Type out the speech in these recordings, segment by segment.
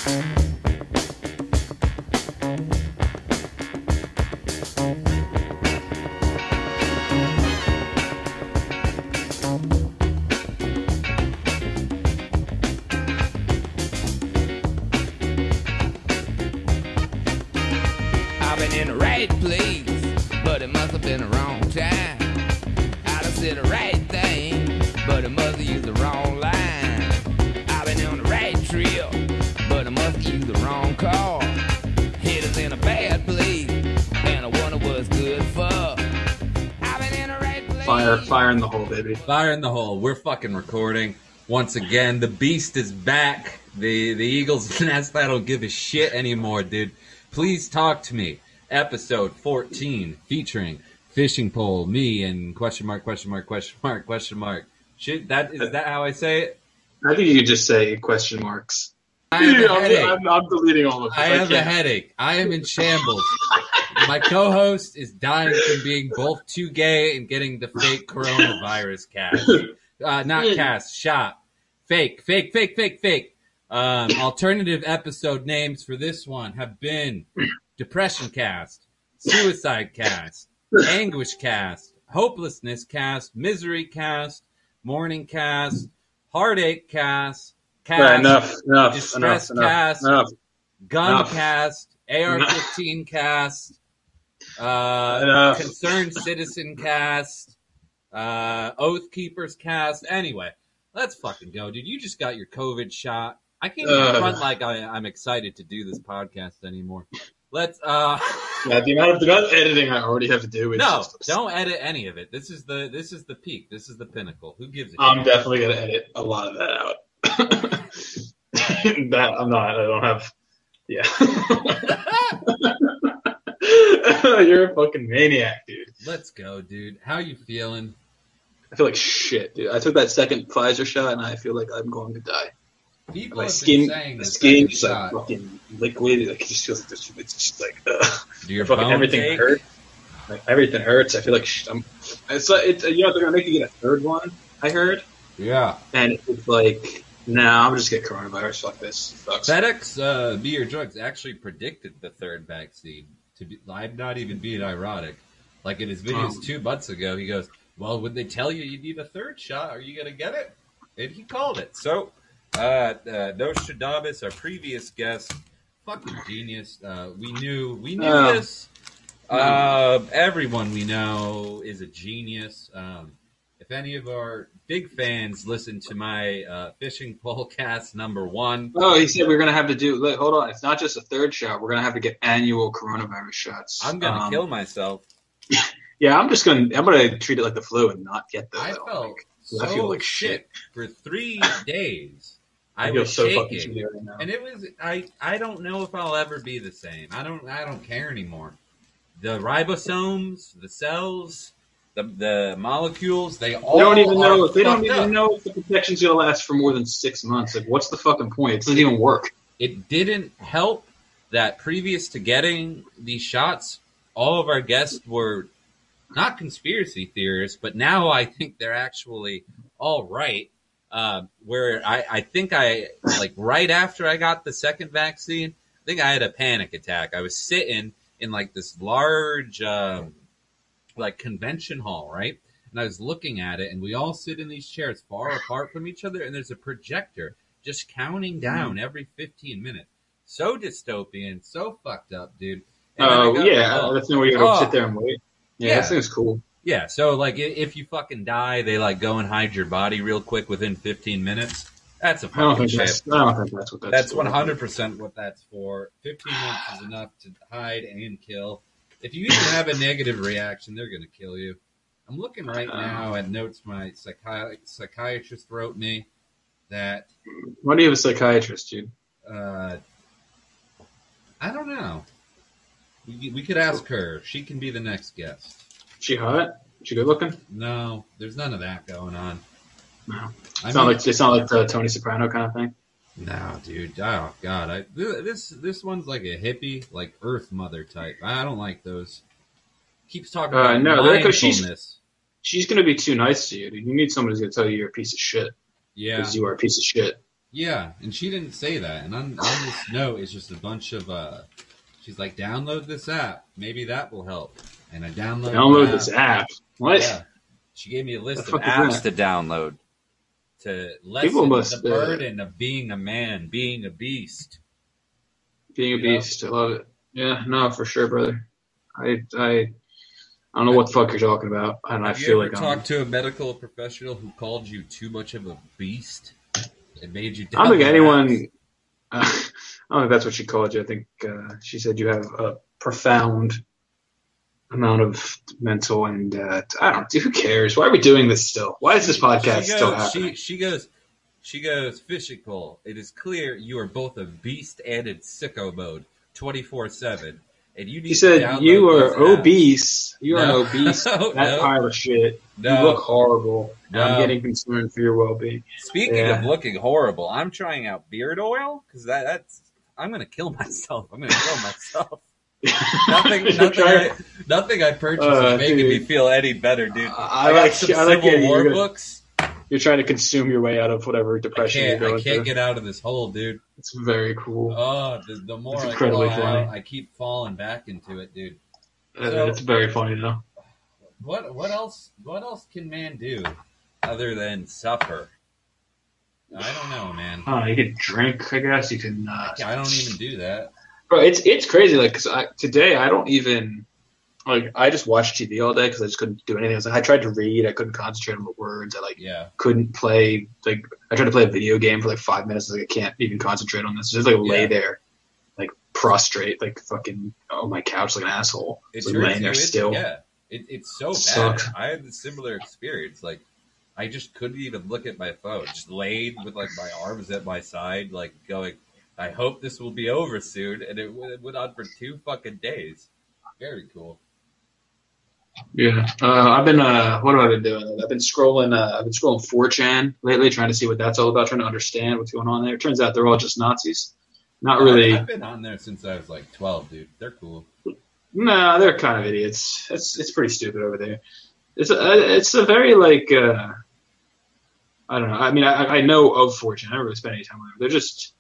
I've been in the right place, but it must have been the wrong time. I done said the right thing, but it must have used the wrong line. I've been on the right trip, but I must have used the wrong car. Head is in a bad place, and I wonder what's good for. I've been in the right place. Fire in the hole, baby. Fire in the hole. We're fucking recording once again. The beast is back. The Eagles nest. I don't give a shit anymore, dude. Please talk to me. Episode 14 featuring Fishing Pole, me, and question mark. Shit, is that how I say it? I think you could just say question marks. I have a headache. I'm deleting all of this. I have a headache. I am in shambles. My co-host is dying from being both too gay and getting the fake coronavirus cast. Not cast, shot. Fake. Alternative episode names for this one have been Depression Cast, Suicide Cast, Anguish Cast, Hopelessness Cast, Misery Cast, Morning Cast, Heartache Cast, enough, Distress Cast, Gun Cast, AR-15 Cast, Concerned Citizen Cast, Oath Keepers Cast. Anyway, let's fucking go, dude. You just got your COVID shot. I can't even front like I'm excited to do this podcast anymore. Let's Yeah, the amount of editing I already have to do is no, don't edit any of it. This is the peak. This is the pinnacle. Who gives a shit? I'm definitely gonna edit a lot of that out. That I'm not. I don't have. Yeah. You're a fucking maniac, dude. Let's go, dude. How you feeling? I feel like shit, dude. I took that second Pfizer shot and I feel like I'm going to die. People My have skin, been saying the the skin second is like shot. fucking liquid. Like it just feels like this. It's just like Do your fucking bones everything ache? hurts. Like everything hurts. I feel like I'm. It's you know they're gonna make you get a third one. I heard, Yeah. and it's like nah, I'm just get coronavirus. Fuck this. Sucks. FedEx, Be Your Drugs actually predicted the third vaccine. I'm not even being ironic. Like in his videos 2 months ago, he goes, well, would they tell you need a third shot? Are you going to get it? And he called it. So, Nostradamus, our previous guest, fucking genius. We knew this. Everyone we know is a genius. If any of our big fans listen to my Fishing Pole Cast #1. Oh, he said we're gonna have to do. Look, hold on, it's not just a third shot. We're gonna have to get annual coronavirus shots. I'm going to kill myself. Yeah, I'm gonna treat it like the flu and not get the. I felt so I feel like shit for 3 days. I I feel was so fucking shaking, shitty right now. and it was. I don't know if I'll ever be the same. I don't care anymore. The ribosomes, the cells, the molecules, they all They don't even know. are They don't fucked even up. know if the protection's gonna last for more than 6 months. Like, what's the fucking point? It doesn't even work. It didn't help that previous to getting these shots, all of our guests were not conspiracy theorists, but now I think they're actually all right. Where I think like right after I got the second vaccine, I think I had a panic attack. I was sitting in like this large like convention hall, right? And I was looking at it, and we all sit in these chairs far apart from each other, and there's a projector just counting down every 15 minutes. So dystopian, so fucked up, dude. And then I Oh got- yeah, that's where you gotta Oh. sit there and wait. Yeah, Yeah. that thing's cool. Yeah, so like if you fucking die, they like go and hide your body real quick within 15 minutes. That's a I don't fucking think shit. that's what that's. That's for. 100% what that's for. 15 minutes is enough to hide and kill. If you even have a negative reaction, they're going to kill you. I'm looking right now at notes my psychiatrist wrote me that Why do you have a psychiatrist, dude? I don't know. We could ask her. She can be the next guest. She hot? She good looking? No, there's none of that going on. No. I It's not mean- like the Tony Soprano kind of thing. No, dude. Oh God, this one's like a hippie, like Earth Mother type. I don't like those. Keeps talking about No, they're 'cause she's- mindfulness. She's gonna be too nice to you, dude. You need someone who's gonna tell you you're a piece of shit Yeah, because you are a piece of shit. Yeah, and she didn't say that. And on this note, it's just a bunch of. She's like, download this app. Maybe that will help. And I Download this app. What? Yeah, she gave me a list The of fuck is apps that? to download to People lessen must, the burden of being a man, being a beast. Being a You know? beast. I love it. Yeah, no, for sure, brother. I don't know what the fuck you're talking about, and I Have feel you ever like talked to a medical professional who called you too much of a beast? It made you. I don't think download anyone. apps? I don't think that's what she called you. I think she said you have a profound amount of mental and I don't. Who cares? Why are we doing this still? Why is this podcast still happening? She goes, physical. It is clear you are both a beast and in sicko mode, 24/7, and you need He to said download you those are apps. obese. You are an No. obese No. pile of shit. No. You look horrible. And I'm No. getting concerned for your well-being. Speaking Yeah. of looking horrible, I'm trying out beard oil because that's. I'm gonna kill myself. I'm gonna kill myself. Nothing I purchased is making dude. me feel any better, dude. I got like- some I like Civil it. War You're- books. You're trying to consume your way out of whatever I depression you're going can't through. get out of this hole, dude. It's very cool. Oh, the more It's I incredibly fall funny. out, I keep falling back into it, dude. It's very funny though. What else can man do other than suffer? I don't know, man. You can drink, I guess. You can. I don't even do that. Bro, it's crazy. Like, cause today I don't even like. I just watched TV all day because I just couldn't do anything. I tried to read. I couldn't concentrate on the words. I Yeah. couldn't play. Like, I tried to play a video game for like 5 minutes. Like, I can't even concentrate on this. Just like lay Yeah. there, like prostrate, like fucking on my couch like an asshole. It Just, like, turns laying there you in- still. Yeah, it's so bad. Sucks. I had a similar experience. Like, I just couldn't even look at my phone. Just laid with like my arms at my side, like going, I hope this will be over soon. And it went on for 2 fucking days. Very cool. Yeah, I've been. What have I been doing? I've been scrolling. 4chan lately, trying to see what that's all about, trying to understand what's going on there. It turns out they're all just Nazis. Not really. I've been on there since I was like 12, dude. They're cool. No, they're kind of idiots. It's pretty stupid over there. It's a very like. I don't know. I mean, I know of 4chan. I don't really spend any time on it. They're just.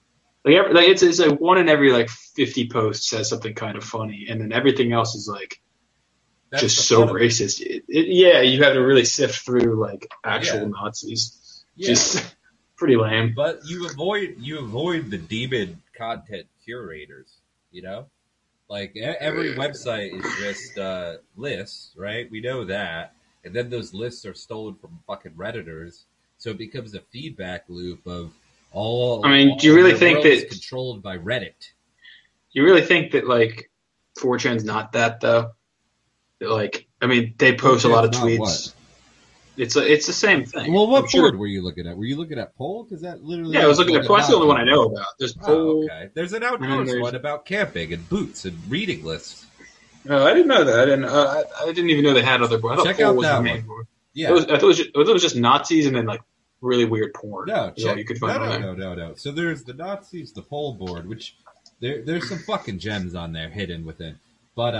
It's like one in every like 50 posts says something kind of funny, and then everything else is like. That's Just the so fun of it. racist. Yeah, you have to really sift through like actual Yeah. Nazis. Yeah. Just pretty lame. But you avoid the demon content curators, you know? Like every website is just lists, right? We know that. And then those lists are stolen from fucking Redditors. So it becomes a feedback loop of all. I mean, do you all really the think world is that- controlled by Reddit? You really think that like 4chan's not that though? Like, I mean, they post a lot of 4chan's not tweets. what? It's the same thing. Well, what I'm sure- board were you looking at? Were you looking at Poll? Because that literally. Yeah, I was looking at. That's the only one I know about. There's Oh, Poll. okay. There's an then outdoors there's- one about camping and boots and reading lists. Oh, I didn't know that. I didn't even know they had other boards. I thought Check Poll out was that the main one. board. Yeah. I thought it was just Nazis and then like really weird porn. No, is all you could find on there. no. So there's the Nazis, the poll board, which there's some fucking gems on there hidden within. But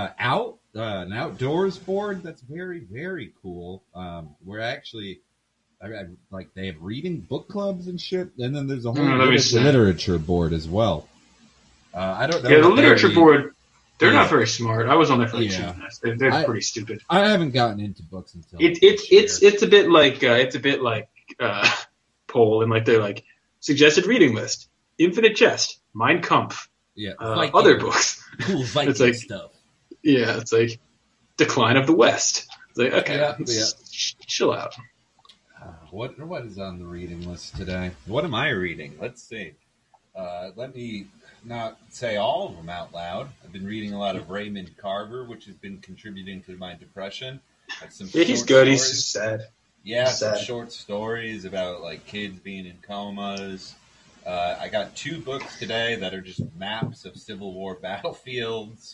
an outdoors board that's very, very cool. We're actually, like they have reading book clubs and shit, and then there's a whole Let me see. literature board as well. I don't know. Yeah, the what they literature read. board. They're Yeah. not very smart. I was on there for like Yeah. 2 minutes. They're I- pretty stupid. I haven't gotten into books until It's a bit like Poll and like they're like suggested reading list, Infinite Jest, Mein Kampf, yeah other books. cool Viking It's like- stuff. Yeah, it's like Decline of the West. It's like okay, Yeah, chill out. What is on the reading list today? What am I reading? Let's see. Let me not say all of them out loud. I've been reading a lot of Raymond Carver, which has been contributing to my depression. Like some Yeah, he's short good. stories. He's just sad. Yeah, some sad. short stories about like kids being in comas. I got 2 books today that are just maps of Civil War battlefields.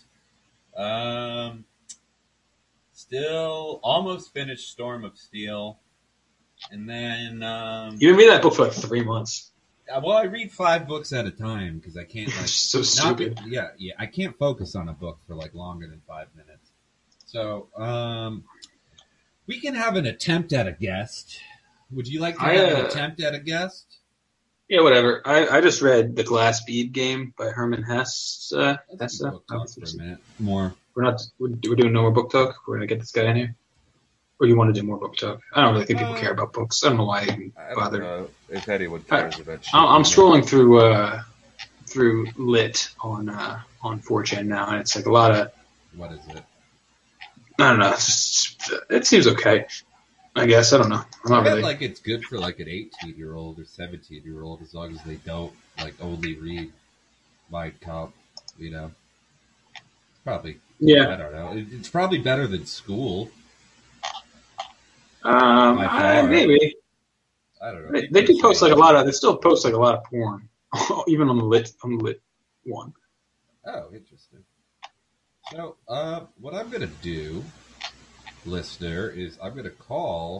Still almost finished Storm of Steel. And then, You've been reading that book for like 3 months. well, I read 5 books at a time because I can't like So not- stupid. yeah, I can't focus on a book for like longer than 5 minutes. So, we can have an attempt at a guest. Would you like to have an attempt at a guest? Yeah, whatever. I just read The Glass Bead Game by Herman Hesse. Let's book talk for a minute more. We're doing no more book talk. We're gonna get this guy in here. Or you want to do more book talk? I don't really think people care about books. I don't know why I even bothered. I don't know if anyone cares about shit. I'm scrolling through lit on 4chan now, and it's like a lot of. What is it? I don't know. It seems okay. I guess I don't know. I'm not I bet, really. like it's good for like an 18-year-old or 17-year-old as long as they don't like only read Mein Kampf. You know, probably. Yeah. I don't know. It's probably better than school. By far. Maybe. I don't know. They do post like a lot of. They still post like a lot of porn, even on the lit one. Oh, interesting. So, what I'm gonna do, listener, is I'm gonna call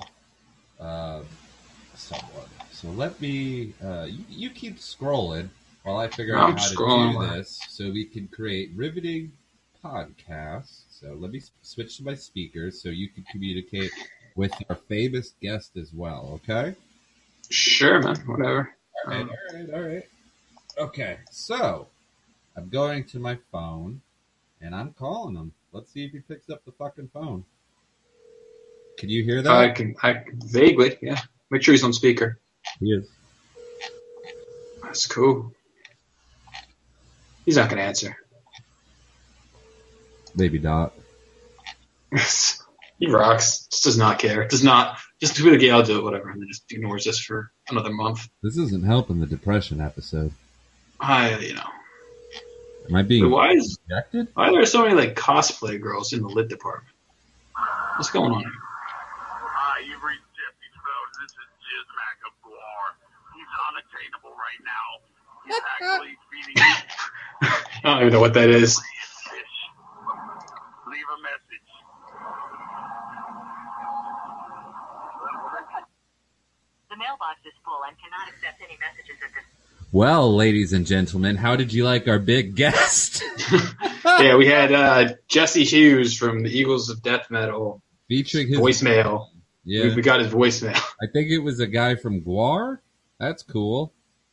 someone. So let me. You keep scrolling while I figure out how to do this, so we can create riveting podcasts. So let me switch to my speakers so you can communicate with our famous guest as well. Okay. Sure, man. Whatever. All right. Okay, so I'm going to my phone and I'm calling him. Let's see if he picks up the fucking phone. Can you hear that? I can vaguely, yeah. Make sure he's on speaker. He is. That's cool. He's not gonna answer. Maybe not. He rocks. Just does not care. Does not. Just do it again. I'll do it. Whatever. And then just ignores us for another month. This isn't helping the depression episode. Am I being rejected? Why are there so many like cosplay girls in the lit department? What's going on here? Hi, you've reached Jesse Rhodes. This is Jizmac of Guar. He's unattainable right now. He's actually feeding you I don't even know what that is. fish. Leave a message. The mailbox is full and cannot accept any messages at this. Well, ladies and gentlemen, how did you like our big guest? Yeah, we had Jesse Hughes from the Eagles of Death Metal Featuring his voicemail. Yeah, We got his voicemail. I think it was a guy from Guar. That's cool.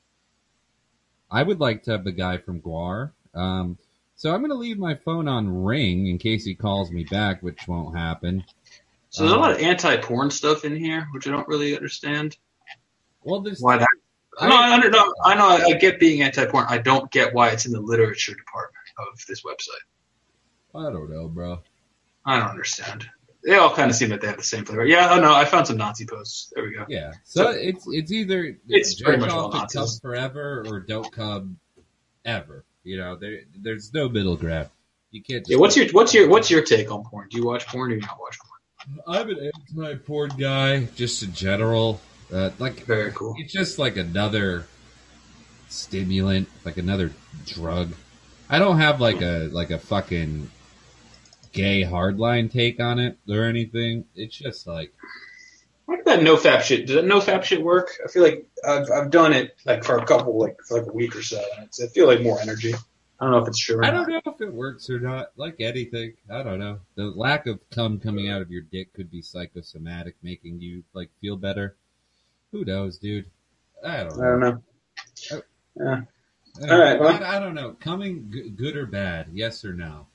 I would like to have the guy from Guar. So I'm going to leave my phone on ring in case he calls me back, which won't happen. So there's a lot of anti-porn stuff in here, which I don't really understand. Well, there's Why that? I know. I get being anti-porn. I don't get why it's in the literature department of this website. I don't know, bro. I don't understand. They all kind of seem like they have the same flavor. Yeah, no, I found some Nazi posts. There we go. Yeah. So it's either It's pretty much jerk all off and Nazis. come forever or don't come ever. You know, there's no middle ground. You can't. Just Yeah, what's your take on porn? Do you watch porn or do you not watch porn? I'm an anti-porn guy, just in general. Very cool. It's just like another stimulant, like another drug. I don't have like a fucking gay hardline take on it or anything. It's just like, What did that nofap shit? Does that nofap shit work? I feel like I've done it like for a week or so. And I feel like more energy. I don't know if it's true or I not. don't know if it works or not. Like anything, I don't know. The lack of cum coming out of your dick could be psychosomatic, making you like feel better. Who knows, dude? I don't know. Yeah. All right. Well, I don't know. Coming good or bad? Yes or no?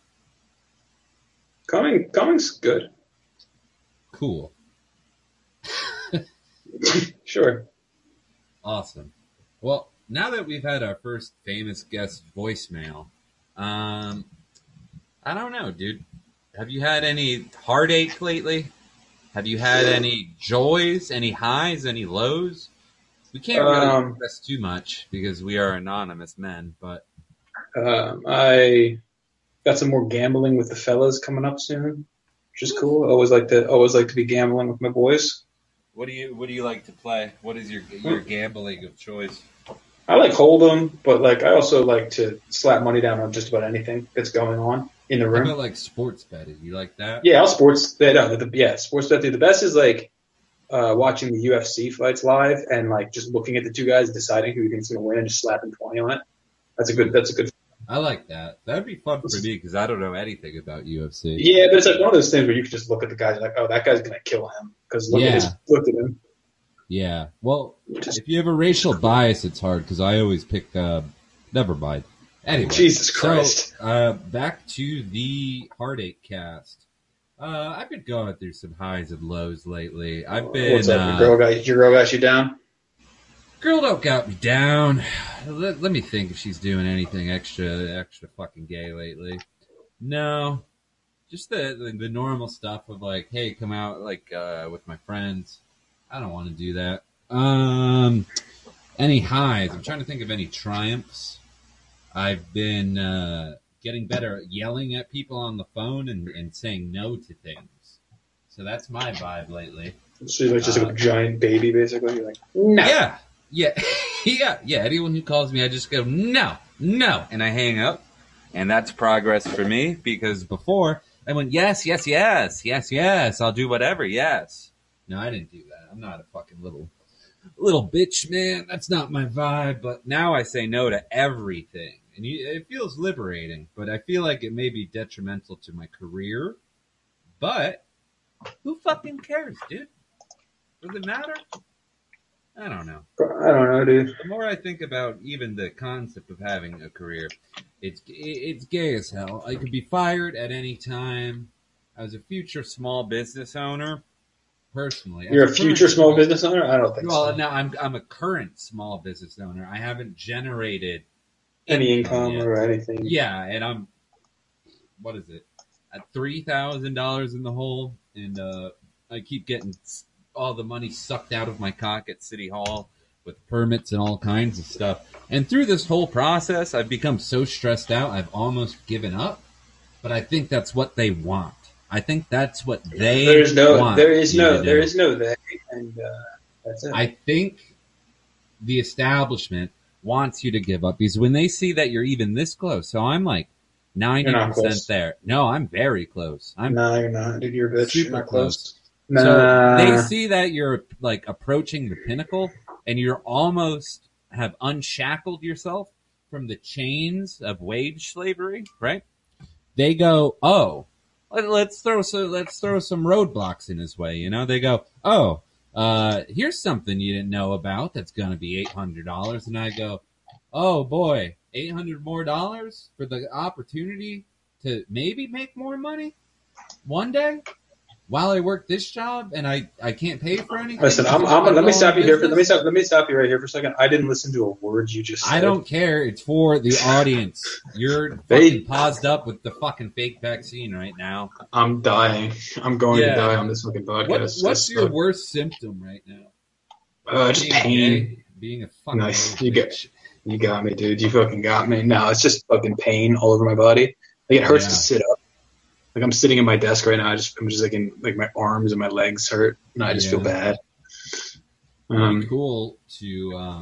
coming's good. Cool. Sure. Awesome. Well, now that we've had our first famous guest voicemail, I don't know, dude. Have you had any heartache lately? Have you had any joys, any highs, any lows? We can't really express too much because we are anonymous men, but I got some more gambling with the fellas coming up soon, which is cool. I always like to be gambling with my boys. what do you like to play? What is your gambling of choice? I like Hold'em, but like I also like to slap money down on just about anything that's going on in the How room. about like sports betting? You like that? Yeah, I'll sports bet. Sports bet. The best is like watching the UFC fights live and like just looking at the two guys, deciding who you think's going to win, and just slapping 20 on it. That's a good. I like that. That'd be fun for me because I don't know anything about UFC. Yeah, but it's like one of those things where you can just look at the guys like, oh, that guy's going to kill him because look at him. Yeah. Well, if you have a racial bias, it's hard because I always pick. Never mind. Anyway, Jesus Christ. So, back to the Heartache cast. I've been going through some highs and lows lately. I've been. What's up? Your girl got you down? Girl don't got me down. Let me think if she's doing anything extra fucking gay lately. No, just the normal stuff of like, hey, come out like with my friends. I don't want to do that. Any highs? I'm trying to think of any triumphs. I've been getting better at yelling at people on the phone and saying no to things. So that's my vibe lately. So you're like just a giant baby, basically. You're like, no. Yeah. Yeah. Anyone who calls me, I just go, no, and I hang up. And that's progress for me because before I went, yes, I'll do whatever, yes. No, I didn't do that. I'm not a fucking little bitch, man. That's not my vibe. But now I say no to everything. And it feels liberating, but I feel like it may be detrimental to my career. But who fucking cares, dude? Does it matter? I don't know. I don't know, dude. The more I think about even the concept of having a career, it's gay as hell. I could be fired at any time. I was a future small business owner, personally. You're a future small business owner? I don't think so. Well, no, I'm a current small business owner. I haven't generated any income yet. or anything. Yeah, and I'm, what is it, at $3,000 in the hole, and I keep getting all the money sucked out of my cock at City Hall with permits and all kinds of stuff. And through this whole process, I've become so stressed out, I've almost given up. But I think that's what they want. I think that's what they want. There is no they, and that's it. I think the establishment wants you to give up because when they see that you're even this close, so I'm like 90% there. No, I'm very close. No, you're not, dude. You're a bitch. Super you're not close. Nah. So they see that you're like approaching the pinnacle and you're almost have unshackled yourself from the chains of wage slavery, right? They go, oh, let's throw some roadblocks in his way. You know, they go, oh, here's something you didn't know about that's going to be $800. And I go, oh boy, $800 more for the opportunity to maybe make more money one day while I work this job and I can't pay for anything. Listen, let me stop you here. Let me stop you right here for a second. I didn't listen to a word you just said. I don't care. It's for the audience. You're fucking paused up with the fucking fake vaccine right now. I'm dying. I'm going to die on this fucking podcast. What's your worst symptom right now? Just pain. Being a fucking nice. You got me, dude. You fucking got me. No, it's just fucking pain all over my body. Like it hurts to sit up. Like I'm sitting at my desk right now. I'm just like my arms and my legs hurt, and I just feel bad. Cool to.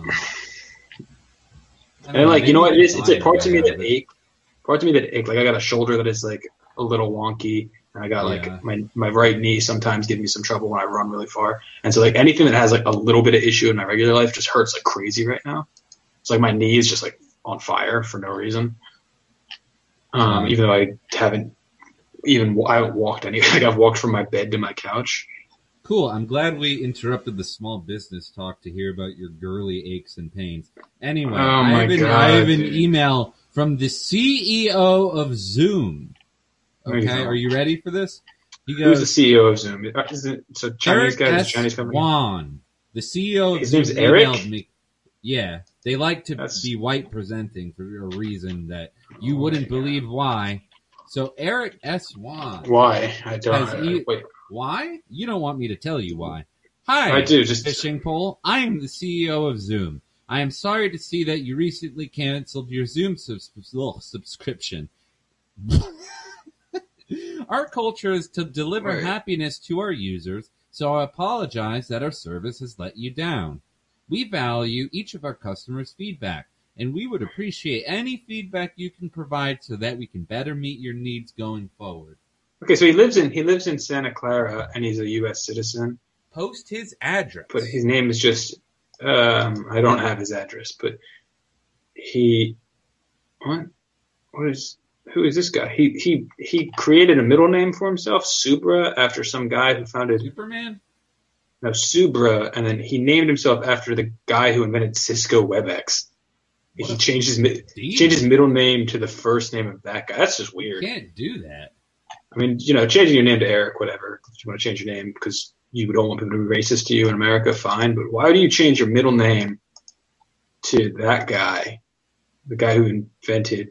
And like you know what it is? It's like parts of me that ache. Parts of me that ache. Like I got a shoulder that is like a little wonky, and I got like my right knee sometimes gives me some trouble when I run really far. And so like anything that has like a little bit of issue in my regular life just hurts like crazy right now. It's like my knee is just like on fire for no reason. Even though I haven't walked any. Like I've walked from my bed to my couch. Cool. I'm glad we interrupted the small business talk to hear about your girly aches and pains. Anyway, I have an email from the CEO of Zoom. Okay, are you ready for this? He goes, who's the CEO of Zoom? Is it a Chinese guy? Is a Chinese company? Juan, the CEO of Zoom, name's Eric? emailed me. Yeah, they like to be white presenting for a reason that you wouldn't believe why. So Eric S. Juan. Why? I don't. Wait. Why? You don't want me to tell you why. Hi, I do. Just fishing pole. I am the CEO of Zoom. I am sorry to see that you recently canceled your Zoom subscription. Our culture is to deliver happiness to our users, so I apologize that our service has let you down. We value each of our customers' feedback, and we would appreciate any feedback you can provide so that we can better meet your needs going forward. Okay, so he lives in Santa Clara, and he's a U.S. citizen. Post his address. But his name is just I don't have his address, but who is this guy? He created a middle name for himself, Supra, after some guy who founded Superman? No, Subra, and then he named himself after the guy who invented Cisco WebEx. What He a changed his deal. changed his middle name to the first name of that guy. That's just You weird. can't do that. I mean, changing your name to Eric, whatever. If you want to change your name because you don't want people to be racist to you in America, fine. But why do you change your middle name to that guy, the guy who invented?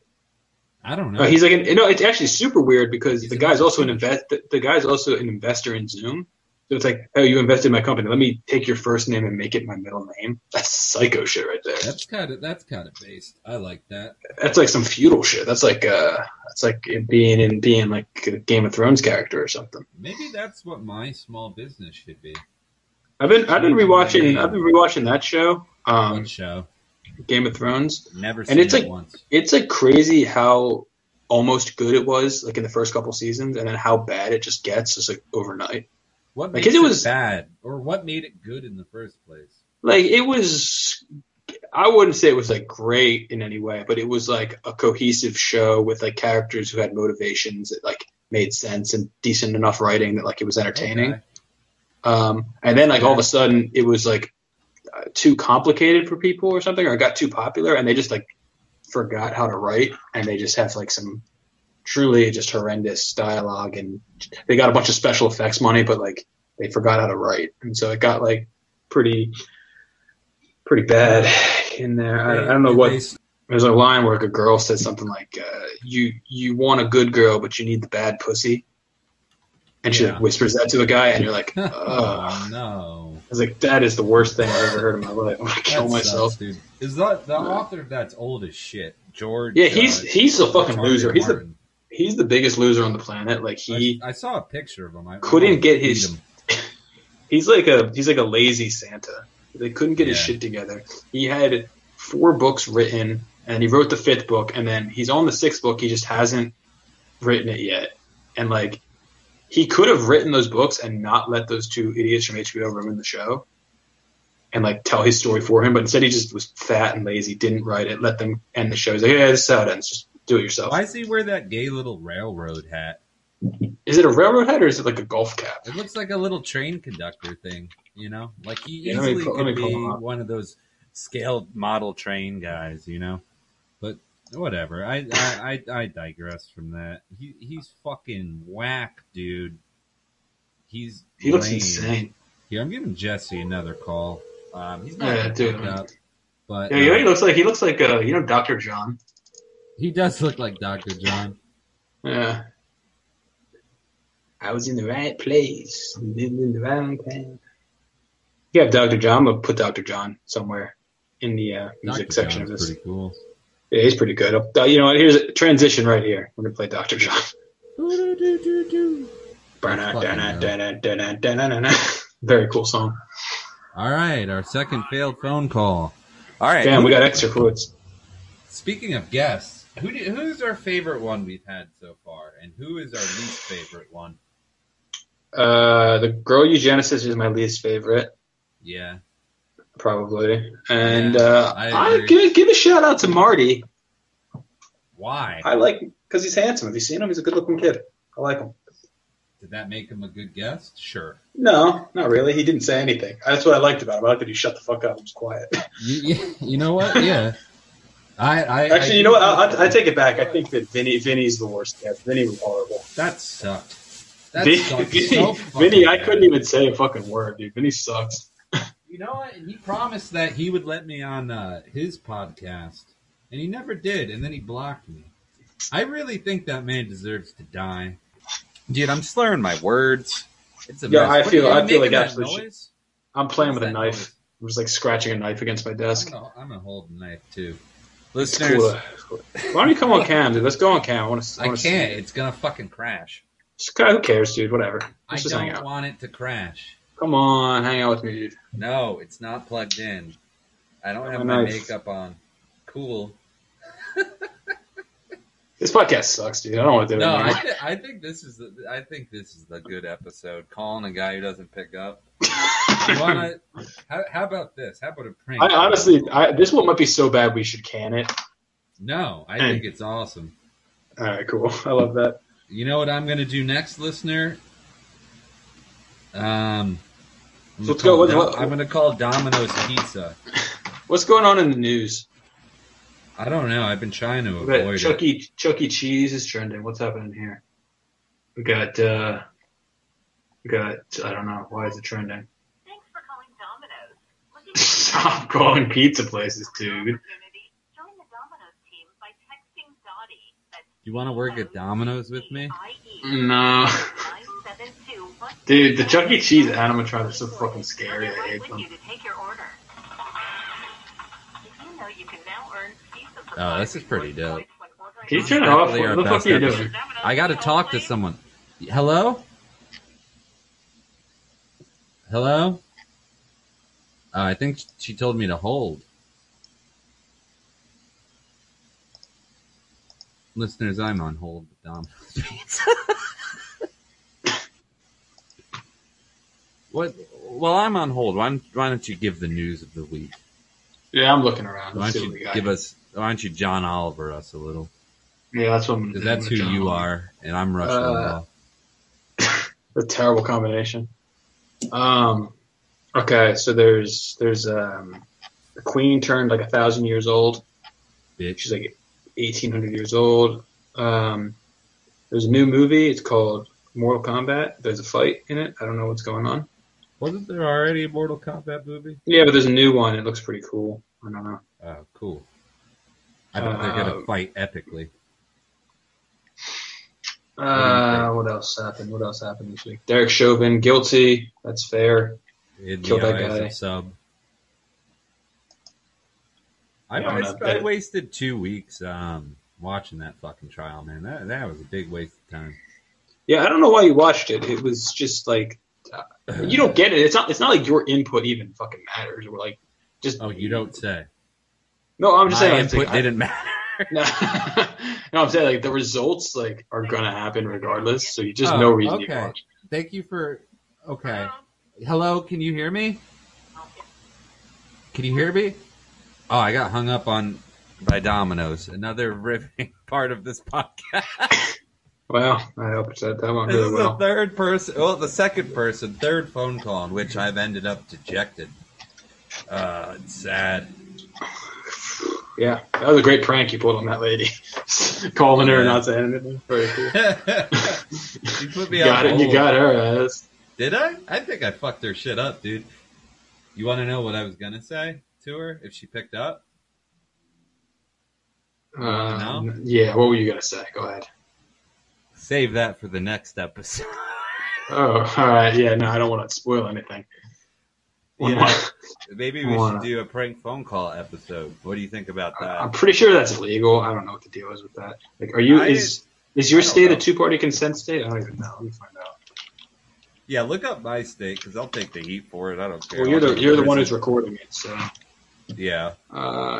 I don't know. He's like, it's actually super weird because He's the guy's also an investor. the guy's also an investor in Zoom. So it's like, oh, you invested in my company. Let me take your first name and make it my middle name. That's psycho shit right there. That's kind of based. I like that. That's like some feudal shit. That's like it being like a Game of Thrones character or something. Maybe that's what my small business should be. I've been rewatching that show, One show. Game of Thrones. Never And seen it's it like once. it's like crazy how almost good it was like in the first couple seasons, and then how bad it just gets just like overnight. What Like, makes it it was- bad, or what made it good in the first place? Like it was, I wouldn't say it was like great in any way, but it was like a cohesive show with like characters who had motivations that like made sense and decent enough writing that like it was entertaining. Okay. And then like all of a sudden it was like too complicated for people or something, or it got too popular and they just like forgot how to write and they just have like some truly just horrendous dialogue and they got a bunch of special effects money, but like they forgot how to write. And so it got like pretty bad in there. I don't know what. There's a line where a girl says something like, you want a good girl, but you need the bad pussy. And she like whispers that to a guy, and you're like, ugh. Oh no! I was like, that is the worst thing I've ever heard in my life. I'm gonna kill That myself. sucks, dude. Is that the author of that's old as shit? George. Yeah, he's a fucking George loser. Martin. He's the biggest loser on the planet. Like I saw a picture of him. I couldn't get read his. him. He's like a lazy Santa. They couldn't get his Yeah. shit together. He had 4 books written, and he wrote the 5th book, and then he's on the 6th book. He just hasn't written it yet. And like, he could have written those books and not let those 2 idiots from HBO ruin the show, and like tell his story for him. But instead, he just was fat and lazy, didn't write it, let them end the show. He's like, yeah, this is how it ends. Just do it yourself. Why does he wear that gay little railroad hat? Is it a railroad hat or is it like a golf cap? It looks like a little train conductor thing, you know? Like he Yeah, let me easily pull- let could me pull be him up. one of those scaled model train guys, you know? But whatever. I digress from that. He's fucking whack, dude. He looks lame. insane. Here, I'm giving Jesse another call. He's not Yeah, gonna dude. pick up, but Yeah, you know what he looks like? He looks like Dr. John. he does look like Dr. John. Yeah. I was in the right place, lived in the right time. You have Dr. John. I'm gonna put Dr. John somewhere in the music Dr. section of John's this. pretty cool. Yeah, he's pretty good. You know what? Here's a transition right here. We're gonna play Dr. John. Very cool song. All right, our second failed phone call. All right, Damn, we got extra quotes. Speaking of guests, who's our favorite one we've had so far, and who is our least favorite one? The Girl Eugenesis is my least favorite, Yeah, probably. And Yeah, I I agree. give a shout out to Marty. why? I like him because he's handsome. Have you seen him? He's a good looking kid. I like him. Did that make him a good guest? Sure. No, not really. He didn't say anything. That's what I liked about him. I liked that he shut the fuck up and was quiet. You know what? Yeah. Actually, you know what? I take it back. I think that Vinny's the worst guest. Vinny was horrible. That sucked. That Vinny, sucked so fucking Vinny, I bad. couldn't even say a fucking word, dude. Vinny sucks. You know what? And he promised that he would let me on his podcast, and he never did. And then he blocked me. I really think that man deserves to die. Dude, I'm slurring my words. It's a Yeah, mess. I What, feel are you like making that absolute noise? I'm playing with What's a that knife. noise? I'm just like scratching a knife against my desk. I'm gonna hold the knife too. It's Listeners, cool. Why don't you come on cam, dude? Let's go on cam. I want to. I can't. It's gonna fucking crash. Who cares, dude? Whatever. I Let's just hang don't out. want it to crash. Come on, hang out with me, dude. No, it's not plugged in. I don't have Oh, my nice. makeup on. Cool. This podcast sucks, dude. I don't want to do it No, anymore. I think this is the good episode. Calling a guy who doesn't pick up. You wanna? How about this? How about a prank? I honestly, this one might be so bad we should can it. No, I think it's awesome. All right, cool. I love that. You know what I'm gonna do next, listener? So let's go. I'm going to call Domino's Pizza. What's going on in the news? I don't know. I've been trying to avoid it. Chuck E. Cheese is trending. What's happening here? We got. I don't know. Why is it trending? Thanks for calling Domino's. Stop calling pizza places, dude. Join the Domino's team by texting Dottie. You want to work at Domino's with me? No. Dude, the Chuck E. Cheese animatronics are so fucking scary. I hate them. Oh, this is pretty dope. Can you turn it off? What the fuck are you doing? I got to talk to someone. Hello? Hello? I think she told me to hold. Listeners, I'm on hold with Domino's Pizza. What? Well, I'm on hold. Why don't you give the news of the week? Yeah, I'm looking around. Why don't you John Oliver us a little? Yeah, that's what I'm Because that's who you are, and I'm Rush Limbaugh. A terrible combination. Okay, so there's the Queen turned like 1,000 years old. Bitch. She's like 1,800 years old. There's a new movie. It's called Mortal Kombat. There's a fight in it. I don't know what's going on. Wasn't there already a Mortal Kombat movie? Yeah, but there's a new one. It looks pretty cool. I don't know. Oh, cool. I bet they're going to fight epically. What else happened? What else happened this week? Derek Chauvin, guilty. That's fair. Killed that guy. Sub. I wasted 2 weeks watching that fucking trial, man. That was a big waste of time. Yeah, I don't know why you watched it. It was just like you don't get it. It's not like your input even fucking matters. Or like just you don't say. No, I'm just saying my input didn't matter. No, I'm saying like the results like are gonna happen regardless. So you just no reason you watch. Thank you for. Okay. Hello, can you hear me? Can you hear me? Oh, I got hung up by Domino's. Another riveting part of this podcast. Well, I hope that went really well. The third phone call in which I've ended up dejected. It's sad. Yeah, that was a great prank you pulled on that lady. Calling her and not saying anything. Very cool. You put me on hold. You got her ass. Did I? I think I fucked her shit up, dude. You want to know what I was going to say to her if she picked up? No? Yeah, what were you going to say? Go ahead. Save that for the next episode. Oh, all right. Yeah, no, I don't want to spoil anything. Maybe we should do a prank phone call episode. What do you think about that? I'm pretty sure that's illegal. I don't know what the deal is with that. Like, is your state a two-party consent state? I don't even know. Let me find out. Yeah, look up my state because I'll take the heat for it. I don't care. Well, you're the one who's recording it, so. Yeah. Oh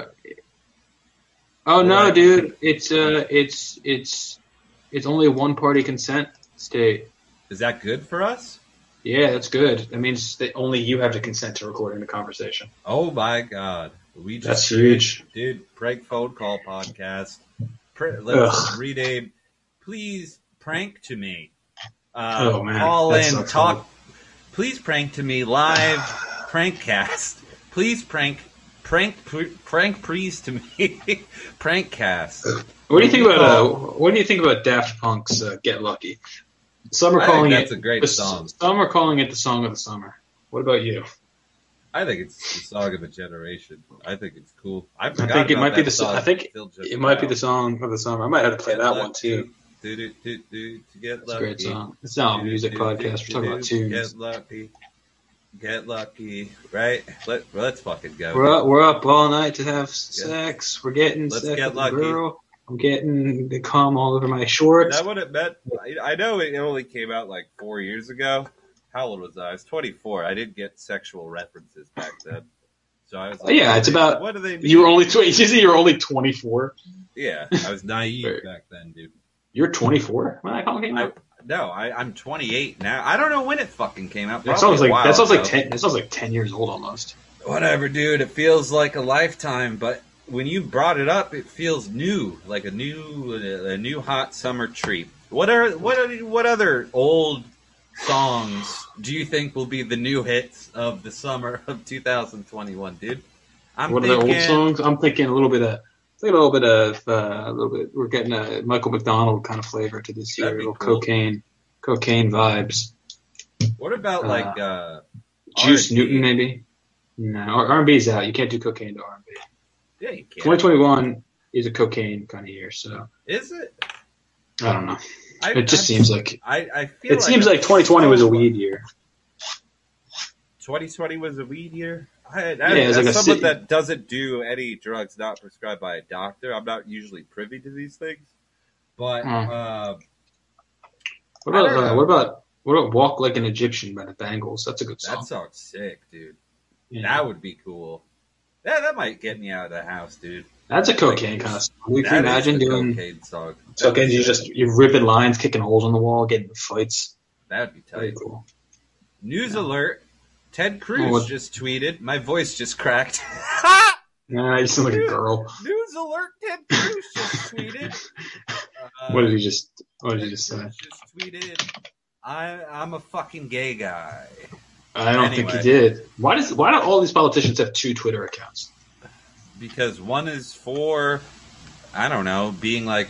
no, dude! It's only a one-party consent state. Is that good for us? Yeah, that's good. That means that only you have to consent to recording the conversation. Oh my god, that's huge, dude! Prank phone call podcast. Let's rename. Please prank to me. Oh man, call in, talk. Funny. Please prank to me live. Prankcast. Please prank please to me. Prankcast. What do you think about Daft Punk's "Get Lucky"? Some are calling that's a great song. Some are calling it the song of the summer. What about you? I think it's the song of a generation. I think it's cool. I think it might be the. I think it might be the song of the summer. I might have to play that one too. It's a great song. It's not a music podcast. We're talking about tunes. Get lucky, right? Let's fucking go. We're up all night to have sex. We're getting sex with a girl. I'm getting the cum all over my shorts. Is that what it meant? I know it only came out like 4 years ago. How old was I? I was 24. I didn't get sexual references back then. So I was like, it's about. What do they mean? You were only 20. You say you were only 24? Yeah, I was naive back then, dude. You're 24 when that song came out? No, I'm 28 now. I don't know when it fucking came out. That sounds like 10. That sounds like 10 years old almost. Whatever, dude. It feels like a lifetime, but when you brought it up, it feels new, like a new hot summer treat. What other old songs do you think will be the new hits of the summer of 2021, dude? What are the old songs? I'm thinking a little bit. We're getting a Michael McDonald kind of flavor to this year. That'd be Little cool. cocaine vibes. What about like Juice R&B? Newton, maybe? No, R&B's out. You can't do cocaine to R&B. Yeah, you can. 2021 is a cocaine kind of year, so Is it? I don't know. It just seems like I feel it seems like 2020 was a weed year. 2020 was a weed year. it's as like a someone city- that doesn't do any drugs not prescribed by a doctor, I'm not usually privy to these things. But What I don't know. about Walk Like an Egyptian by the Bangles? That's a good song. that song's sick, dude. Yeah. That would be cool. Yeah, that might get me out of the house, dude. That's a cocaine kind of song. Can you That is imagine the doing cocaine song? cocaine? You're ripping lines, kicking holes in the wall, getting in fights. That would be Very tight. cool. News alert. Ted Cruz Oh, what- just tweeted. My voice just cracked. Nah, you sound like a girl. News alert. Ted Cruz just tweeted. What did he just say? Cruz just tweeted. I'm a fucking gay guy. I don't think he Anyway. did. Why do all these politicians have 2 Twitter accounts? Because one is for, I don't know, being like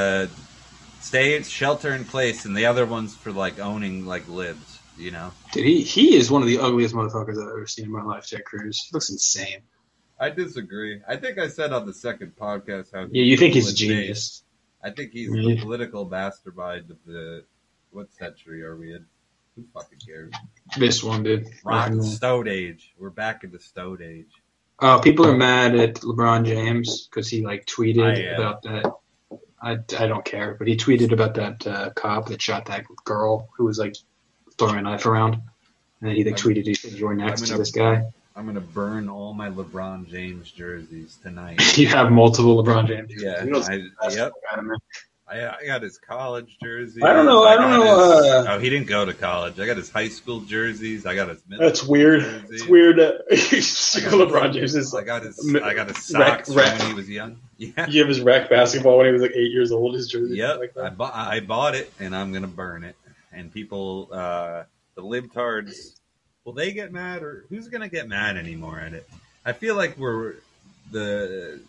shelter in place, and the other one's for like owning like libs, you know. Dude, he is one of the ugliest motherfuckers I've ever seen in my life, Ted Cruz. He looks insane. I disagree. I think I said on the second podcast how Yeah, you think he's a insane. genius. I think he's Yeah. the political mastermind of the. What century are we in? Who fucking cares? This one, dude. Rock Fucking- Stone Age. We're back in the Stone Age. People are mad at LeBron James because he like tweeted I am. about that. I don't care, but he tweeted about that cop that shot that girl who was like throwing a knife around, and he like tweeted, "He said you're next I'm to gonna- this guy." I'm gonna burn all my LeBron James jerseys tonight. You have multiple LeBron James. Yeah, You know, yep. I got his college jersey. I don't know. Oh, he didn't go to college. I got his high school jerseys. I got his middle That's school weird. jerseys. It's weird. LeBron James is I like got his socks rec- when he was young. Yeah. you have his rec basketball when he was like 8 years old. His jersey. Yep. Like that. I bought it, and I'm gonna burn it. And people, the libtards, will they get mad, or who's gonna get mad anymore at it? I feel like we're the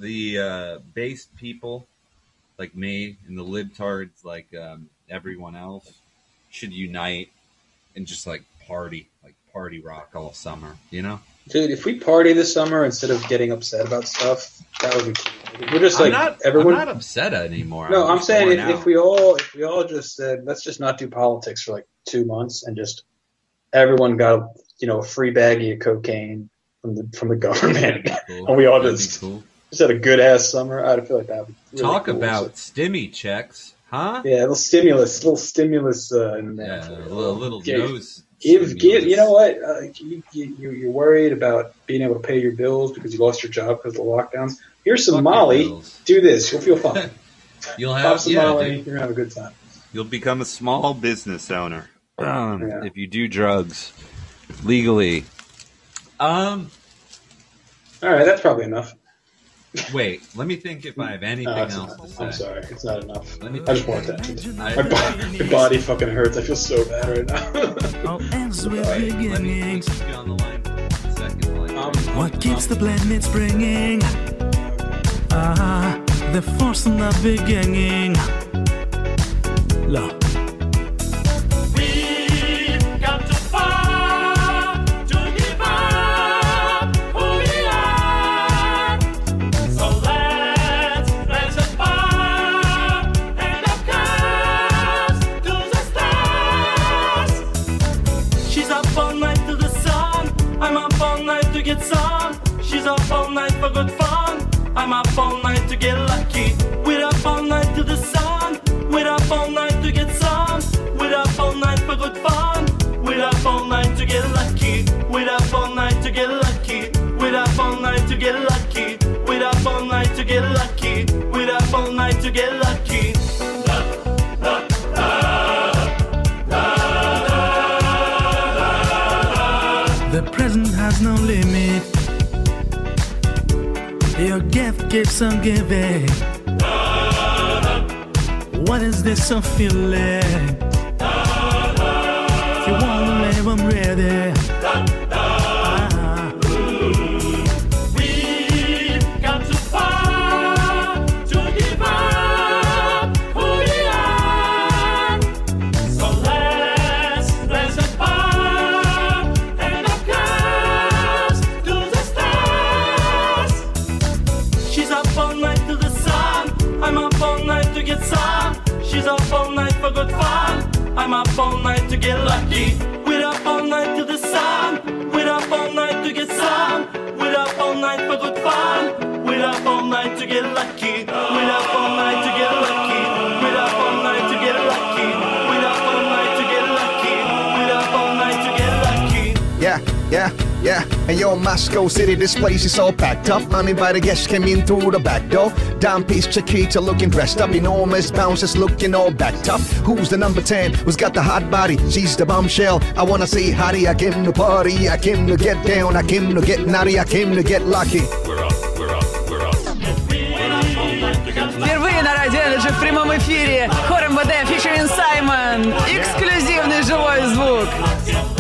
based people like me and the libtards, like everyone else, should unite and just like party rock all summer. You know. Dude, if we party this summer instead of getting upset about stuff, that would be cool. We're just like I'm everyone. not upset anymore. No, I'm just saying worn if out. we all just said let's just not do politics for like 2 months and just everyone got a free baggie of cocaine from the government Cool. and we all That'd just be cool. had a good ass summer, I'd feel like that would be really Talk cool. about stimmy checks, huh? Yeah, a little stimulus in there. Yeah, for a you. little Give- nose. Give, stimulus. you know what? You're worried about being able to pay your bills because you lost your job because of the lockdowns. Here's some Fuck your Molly. bills. Do this. You'll feel fine. You'll Pop have some yeah, Molly. dude. You're going to have a good time. You'll become a small business owner Yeah. if you do drugs legally. All right, that's probably enough. Wait, let me think if I have anything No, it's else not. to say. I'm sorry. It's not enough. Let me I just want that. I- My body fucking hurts. I feel so bad right now. All ends with Let me beginnings. keep you on the line for 1 second. Like, What keeps the planet springing? The force in the beginning. Love. We've got to fight to give up who we are. So let's raise a bar and a curse to the stars. She's up all night to the sun. I'm up all night to get some. She's up all night for good fun. I'm up all night to get lucky. We're up all night to the sun. We're up all night to get some. We're up all night for good fun. We're up all night to get lucky. We're up all night to get lucky. We're up all night to get lucky. We're up all night to get lucky. We're up all night to get lucky. The present has no limit. Your gift keeps on giving. What is this I'm feeling? lady. We've got to fight to give up who we are. So let's raise a bar and our glass to the stars. She's up all night to the sun. I'm up all night to get some. She's up all night for good fun. I'm up all night to get lucky. We're up all night to the sun. We're up all night to get some. We're up all night for good fun. We're up all night to get lucky. We're up all night to get lucky. We're up all night to get lucky. We're up all night to get lucky. We're up all night to get lucky. Yeah, yeah, yeah. And yo, Moscow City, this place is all packed up. Uninvited guests came in through the back door. Dime piece Chiquita looking dressed up. Enormous bouncers looking all backed up. Who's the number 10? Who's got the hot body? She's the bombshell. I wanna say hottie. I came to party. I came to get down. I came to get naughty. I came to get lucky. Впервые на Радио Energy в прямом эфире хор МВД featuring Саймон. Эксклюзивный живой звук.